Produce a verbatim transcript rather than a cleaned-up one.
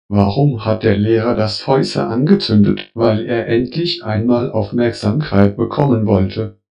Warum hat der Lehrer das Fäusser angezündet? Weil er endlich einmal Aufmerksamkeit bekommen wollte.